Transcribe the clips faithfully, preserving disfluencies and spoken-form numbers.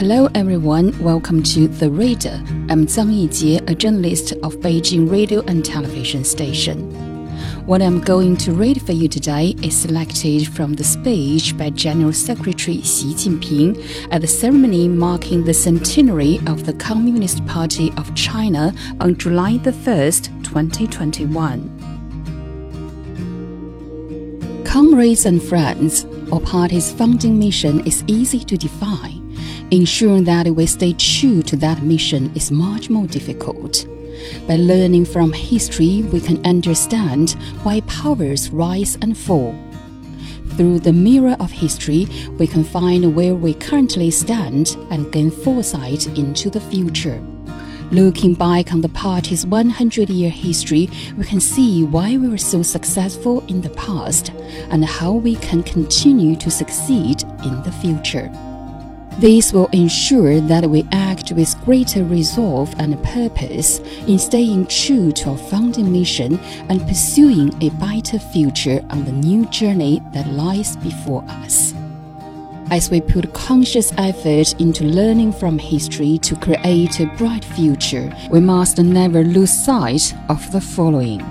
Hello everyone, welcome to The Reader. I'm Zhang Yijie, a journalist of Beijing Radio and Television Station. What I'm going to read for you today is selected from the speech by General Secretary Xi Jinping at the ceremony marking the centenary of the Communist Party of China on July the first, twenty twenty-one. Comrades and friends, our party's founding mission is easy to define. Ensuring that we stay true to that mission is much more difficult. By learning from history, we can understand why powers rise and fall. Through the mirror of history, we can find where we currently stand and gain foresight into the future. Looking back on the party's one hundred year history, we can see why we were so successful in the past and how we can continue to succeed in the future. This will ensure that we act with greater resolve and purpose in staying true to our founding mission and pursuing a brighter future on the new journey that lies before us. As we put conscious effort into learning from history to create a bright future, we must never lose sight of the following.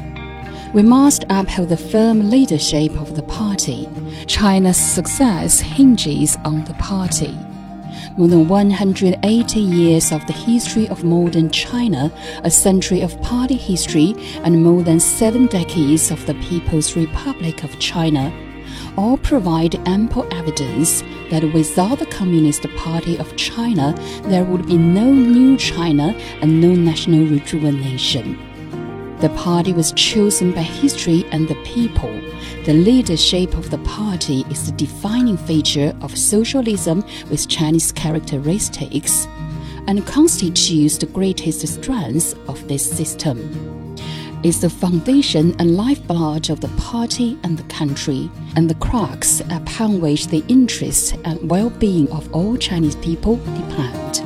We must uphold the firm leadership of the party. China's success hinges on the party. More than one hundred eighty years of the history of modern China, a century of party history, and more than seven decades of the People's Republic of China all provide ample evidence that without the Communist Party of China, there would be no new China and no national rejuvenation. The party was chosen by history and the people. The leadership of the party is the defining feature of socialism with Chinese characteristics and constitutes the greatest strength of this system. It's the foundation and lifeblood of the party and the country, and the crux upon which the interests and well-being of all Chinese people depend.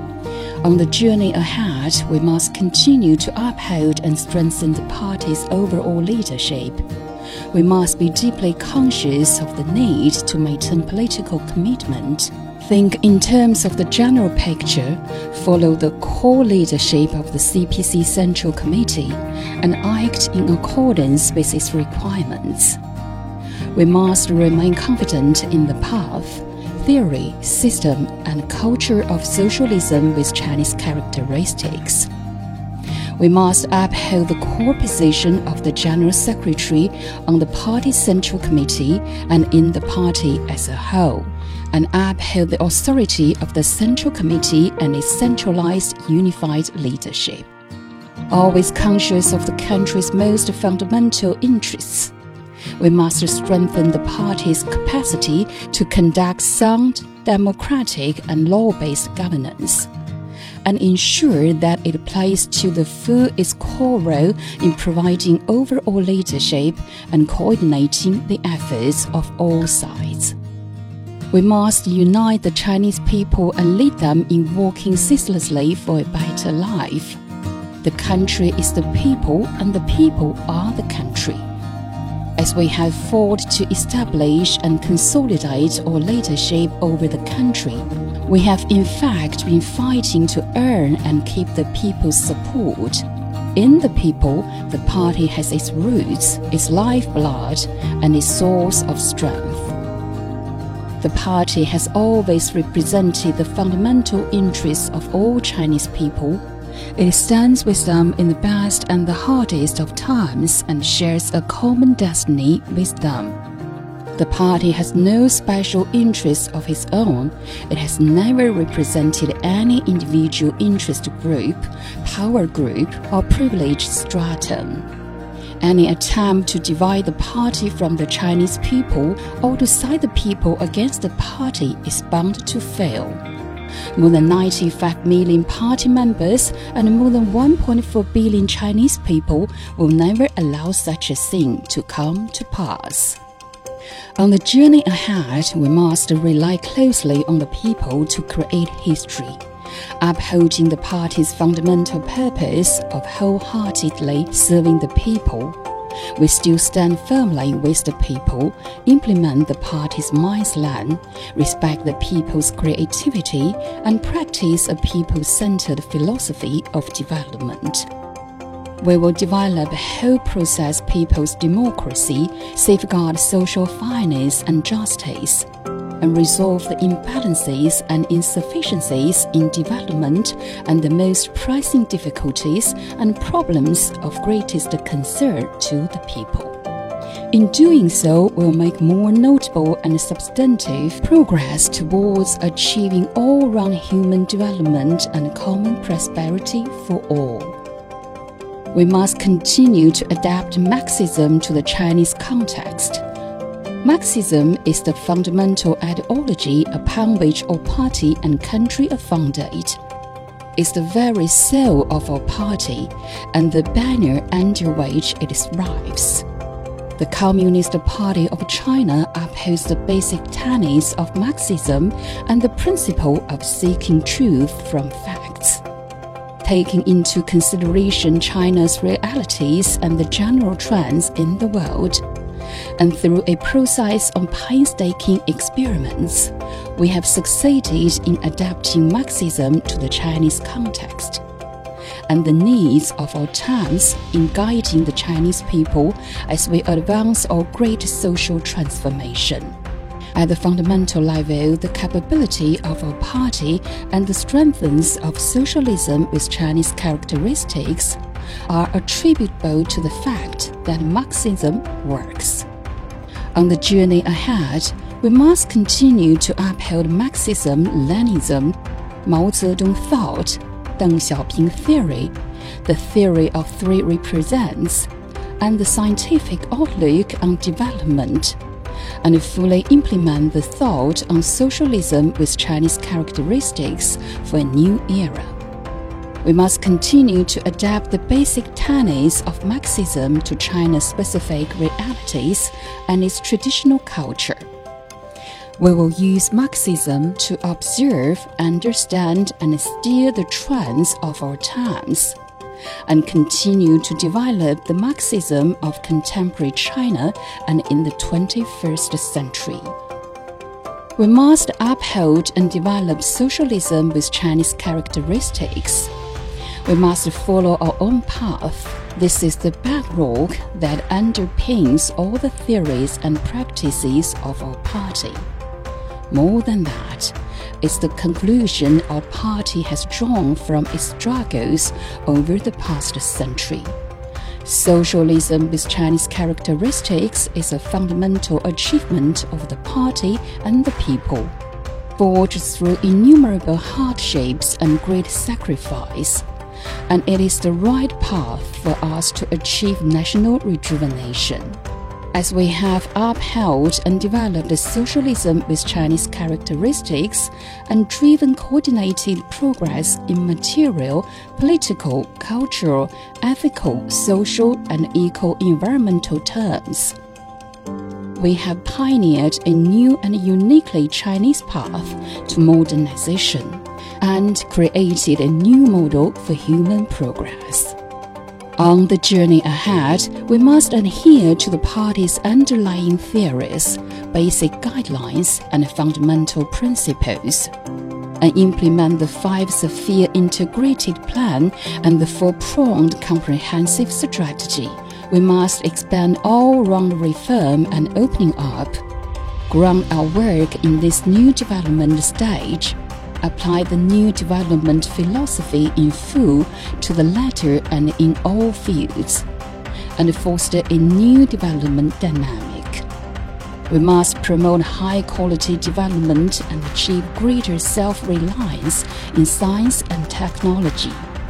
On the journey ahead, we must continue to uphold and strengthen the party's overall leadership. We must be deeply conscious of the need to maintain political commitment, think in terms of the general picture, follow the core leadership of the C P C Central Committee, and act in accordance with its requirements. We must remain confident in the path, theory, system, and culture of socialism with Chinese characteristics. We must uphold the core position of the General Secretary on the Party's Central Committee and in the party as a whole, and uphold the authority of the Central Committee and its centralized, unified leadership. Always conscious of the country's most fundamental interests, we must strengthen the party's capacity to conduct sound, democratic, and law-based governance, and ensure that it plays to the full its core role in providing overall leadership and coordinating the efforts of all sides. We must unite the Chinese people and lead them in working ceaselessly for a better life. The country is the people, and the people are the country. As we have fought to establish and consolidate our leadership over the country, we have in fact been fighting to earn and keep the people's support. In the people, the party has its roots, its lifeblood, and its source of strength. The party has always represented the fundamental interests of all Chinese people. It stands with them in the best and the hardest of times and shares a common destiny with them. The party has no special interests of its own. It has never represented any individual interest group, power group, or privileged stratum. Any attempt to divide the party from the Chinese people or to side the people against the party is bound to fail. More than ninety-five million party members and more than one point four billion Chinese people will never allow such a thing to come to pass. On the journey ahead, we must rely closely on the people to create history, upholding the party's fundamental purpose of wholeheartedly serving the people. we still stand firmly with the people, implement the party's Mindland, respect the people's creativity, and practice a people-centered philosophy of development. We will develop a whole process people's democracy, safeguard social fairness and justice, and resolve the imbalances and insufficiencies in development and the most pressing difficulties and problems of greatest concern to the people. In doing so, we'll make more notable and substantive progress towards achieving all-round human development and common prosperity for all. We must continue to adapt Marxism to the Chinese context. Marxism is the fundamental ideology upon which our party and country are founded. It's the very soul of our party and the banner under which it thrives. The Communist Party of China upholds the basic tenets of Marxism and the principle of seeking truth from facts. Taking into consideration China's realities and the general trends in the world, and through a process of painstaking experiments, we have succeeded in adapting Marxism to the Chinese context and the needs of our times in guiding the Chinese people as we advance our great social transformation. At the fundamental level, the capability of our party and the strengths of socialism with Chinese characteristics are attributable to the fact that Marxism works. On the journey ahead, we must continue to uphold Marxism-Leninism, Mao Zedong thought, Deng Xiaoping theory, the theory of three represents, and the scientific outlook on development, and fully implement the thought on socialism with Chinese characteristics for a new era. We must continue to adapt the basic tenets of Marxism to China's specific realities and its traditional culture. We will use Marxism to observe, understand, and steer the trends of our times, and continue to develop the Marxism of contemporary China and in the twenty-first century. We must uphold and develop socialism with Chinese characteristics. We must follow our own path. This is the bedrock that underpins all the theories and practices of our party. More than that, it's the conclusion our party has drawn from its struggles over the past century. Socialism with Chinese characteristics is a fundamental achievement of the party and the people, forged through innumerable hardships and great sacrifice, and it is the right path for us to achieve national rejuvenation. As we have upheld and developed socialism with Chinese characteristics and driven coordinated progress in material, political, cultural, ethical, social, and eco-environmental terms, we have pioneered a new and uniquely Chinese path to modernization and created a new model for human progress. On the journey ahead, we must adhere to the party's underlying theories, basic guidelines, and fundamental principles, and implement the five-sphere integrated plan and the four-pronged comprehensive strategy. We must expand all-round reform and opening up, ground our work in this new development stage, apply the new development philosophy in full to the latter and in all fields, and foster a new development dynamic. We must promote high-quality development and achieve greater self-reliance in science and technology.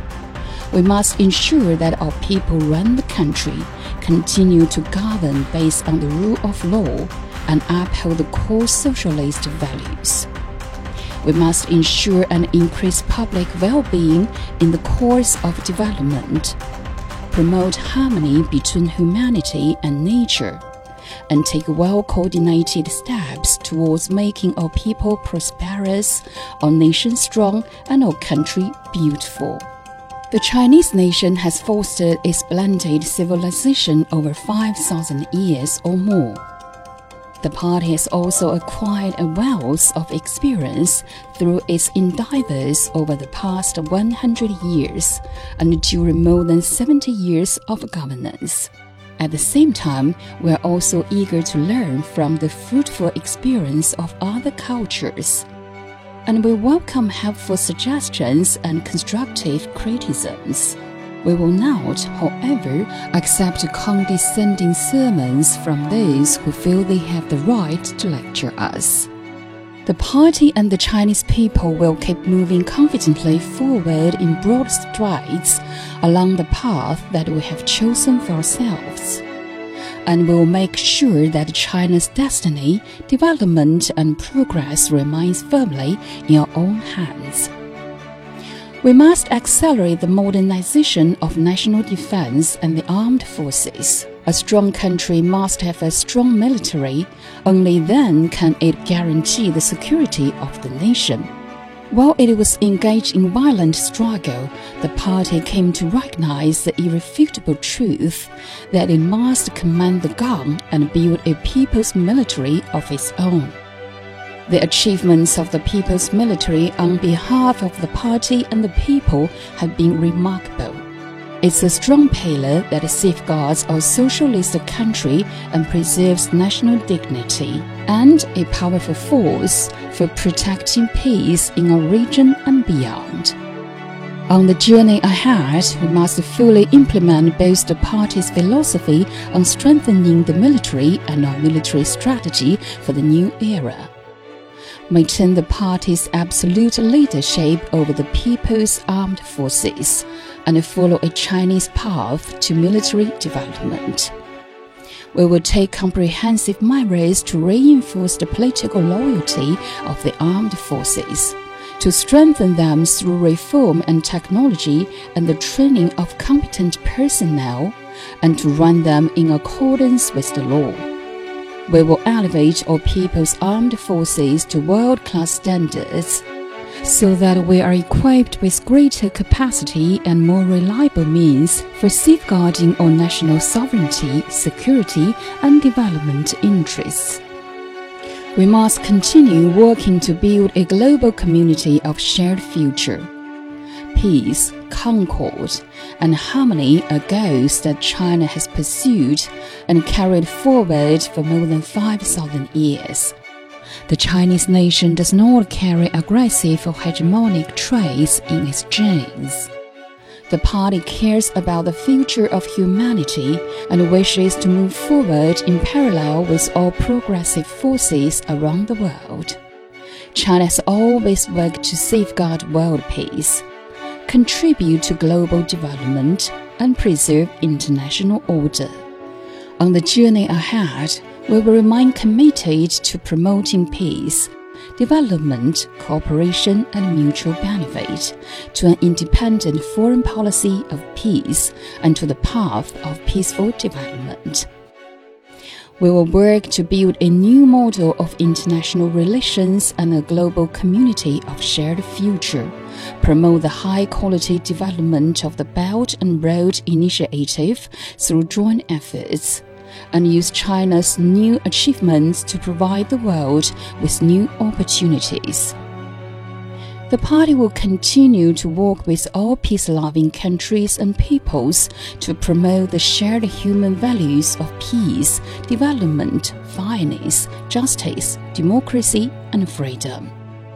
We must ensure that our people run the country, continue to govern based on the rule of law, and uphold the core socialist values. We must ensure and increase public well-being in the course of development, promote harmony between humanity and nature, and take well-coordinated steps towards making our people prosperous, our nation strong, and our country beautiful. The Chinese nation has fostered a splendid civilization over five thousand years or more. The party has also acquired a wealth of experience through its endeavors over the past one hundred years and during more than seventy years of governance. At the same time, we are also eager to learn from the fruitful experience of other cultures, and we welcome helpful suggestions and constructive criticisms. We will not, however, accept condescending sermons from those who feel they have the right to lecture us. The party and the Chinese people will keep moving confidently forward in broad strides along the path that we have chosen for ourselves, and we will make sure that China's destiny, development, and progress remains firmly in our own hands. We must accelerate the modernization of national defense and the armed forces. A strong country must have a strong military. Only then can it guarantee the security of the nation. While it was engaged in violent struggle, the party came to recognize the irrefutable truth that it must command the gun and build a people's military of its own. The achievements of the people's military on behalf of the party and the people have been remarkable. It's a strong pillar that safeguards our socialist country and preserves national dignity, and a powerful force for protecting peace in our region and beyond. On the journey ahead, we must fully implement both the party's philosophy on strengthening the military and our military strategy for the new era. Maintain the party's absolute leadership over the people's armed forces, and follow a Chinese path to military development. We will take comprehensive measures to reinforce the political loyalty of the armed forces, to strengthen them through reform and technology and the training of competent personnel, and to run them in accordance with the law. We will elevate our people's armed forces to world-class standards, so that we are equipped with greater capacity and more reliable means for safeguarding our national sovereignty, security, and development interests. We must continue working to build a global community of shared future. Peace, concord, and harmony are goals that China has pursued and carried forward for more than five thousand years. The Chinese nation does not carry aggressive or hegemonic traits in its genes. The party cares about the future of humanity and wishes to move forward in parallel with all progressive forces around the world. China has always worked to safeguard world peace, contribute to global development, and preserve international order. On the journey ahead, we will remain committed to promoting peace, development, cooperation, and mutual benefit, to an independent foreign policy of peace, and to the path of peaceful development. We will work to build a new model of international relations and a global community of shared future, promote the high-quality development of the Belt and Road Initiative through joint efforts, and use China's new achievements to provide the world with new opportunities. The party will continue to work with all peace-loving countries and peoples to promote the shared human values of peace, development, fairness, justice, democracy, and freedom.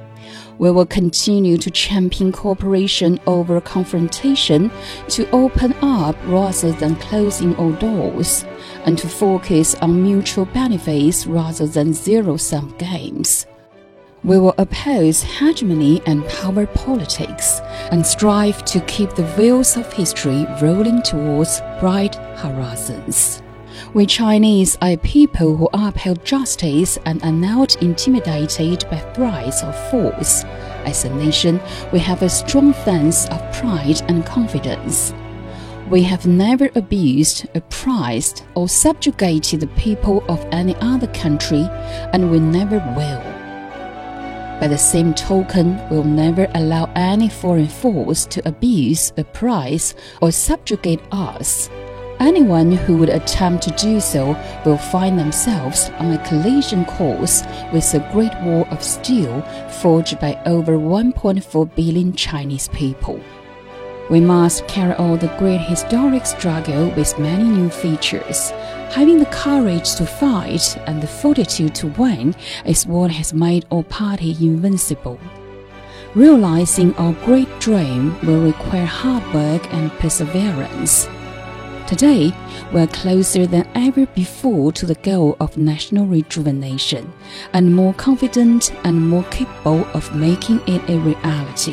We will continue to champion cooperation over confrontation, to open up rather than closing all doors, and to focus on mutual benefits rather than zero-sum games. We will oppose hegemony and power politics, and strive to keep the wheels of history rolling towards bright horizons. We Chinese are a people who uphold justice and are not intimidated by threats or force. As a nation, we have a strong sense of pride and confidence. We have never abused, oppressed, or subjugated the people of any other country, and we never will. By the same token, we'll never allow any foreign force to abuse, oppress, or subjugate us. Anyone who would attempt to do so will find themselves on a collision course with the Great Wall of Steel forged by over one point four billion Chinese people. We must carry on the great historic struggle with many new features. Having the courage to fight and the fortitude to win is what has made our party invincible. Realizing our great dream will require hard work and perseverance. Today, we are closer than ever before to the goal of national rejuvenation, and more confident and more capable of making it a reality.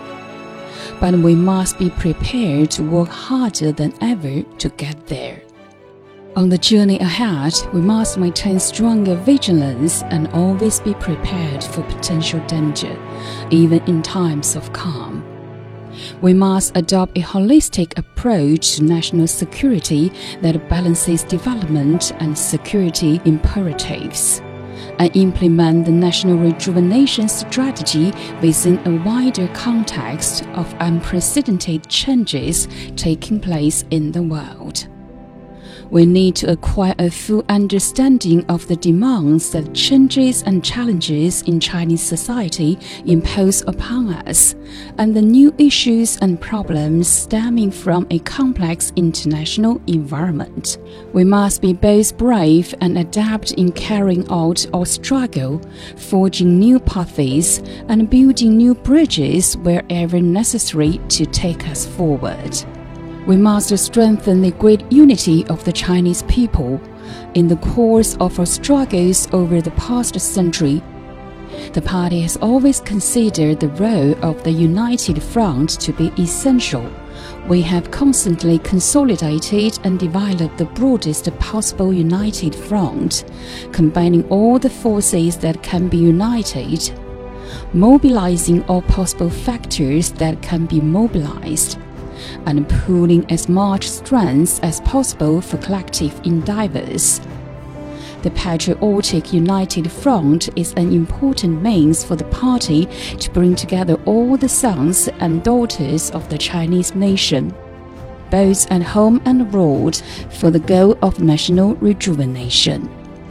But we must be prepared to work harder than ever to get there. On the journey ahead, we must maintain stronger vigilance and always be prepared for potential danger, even in times of calm. We must adopt a holistic approach to national security that balances development and security imperatives, and implement the national rejuvenation strategy within a wider context of unprecedented changes taking place in the world. We need to acquire a full understanding of the demands that changes and challenges in Chinese society impose upon us, and the new issues and problems stemming from a complex international environment. We must be both brave and adept in carrying out our struggle, forging new paths, and building new bridges wherever necessary to take us forward. We must strengthen the great unity of the Chinese people. In the course of our struggles over the past century, the party has always considered the role of the United Front to be essential. We have constantly consolidated and developed the broadest possible united front, combining all the forces that can be united, mobilizing all possible factors that can be mobilized, and pooling as much strength as possible for collective endeavors. The Patriotic United Front is an important means for the party to bring together all the sons and daughters of the Chinese nation, both at home and abroad, for the goal of national rejuvenation.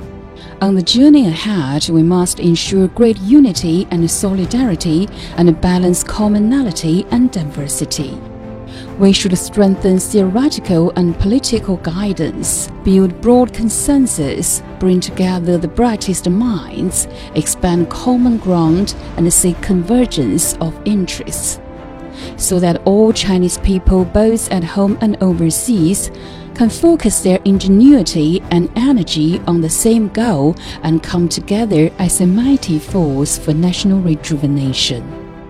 On the journey ahead, we must ensure great unity and solidarity and balance commonality and diversity. We should strengthen theoretical and political guidance, build broad consensus, bring together the brightest minds, expand common ground, and seek convergence of interests, so that all Chinese people, both at home and overseas, can focus their ingenuity and energy on the same goal and come together as a mighty force for national rejuvenation.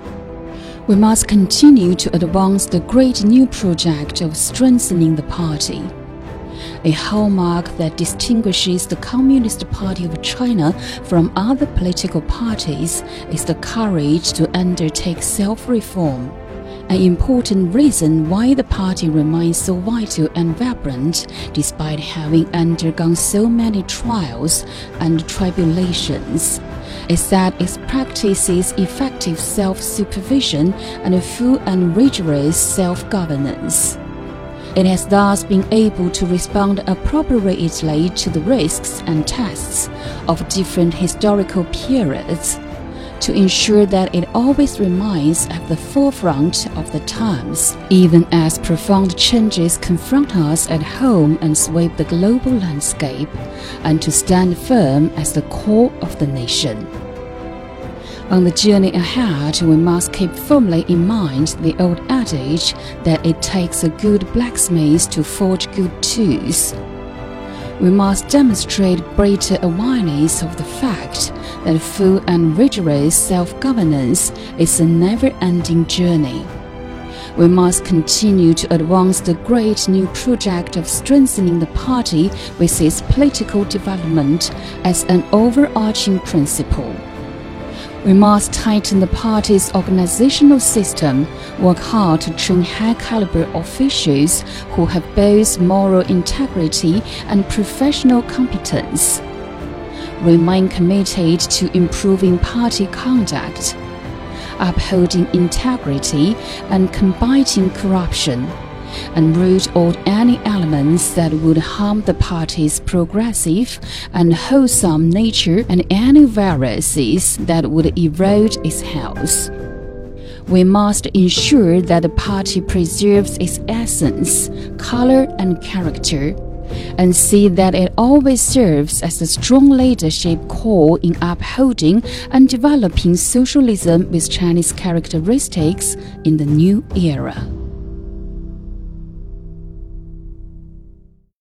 We must continue to advance the great new project of strengthening the party. A hallmark that distinguishes the Communist Party of China from other political parties is the courage to undertake self-reform, an important reason why the party remains so vital and vibrant despite having undergone so many trials and tribulations, is that it practices effective self-supervision and full and rigorous self-governance. It has thus been able to respond appropriately to the risks and tests of different historical periods, to ensure that it always remains at the forefront of the times, even as profound changes confront us at home and sweep the global landscape, and to stand firm as the core of the nation. On the journey ahead, we must keep firmly in mind the old adage that it takes a good blacksmith to forge good tools. We must demonstrate greater awareness of the fact that full and rigorous self-governance is a never-ending journey. We must continue to advance the great new project of strengthening the party with its political development as an overarching principle. We must tighten the party's organizational system, work hard to train high-caliber officials who have both moral integrity and professional competence. remain committed to improving party conduct, upholding integrity and combating corruption, and root out any elements that would harm the party's progressive and wholesome nature and any viruses that would erode its health. We must ensure that the party preserves its essence, color, and character, and see that it always serves as a strong leadership core in upholding and developing socialism with Chinese characteristics in the new era.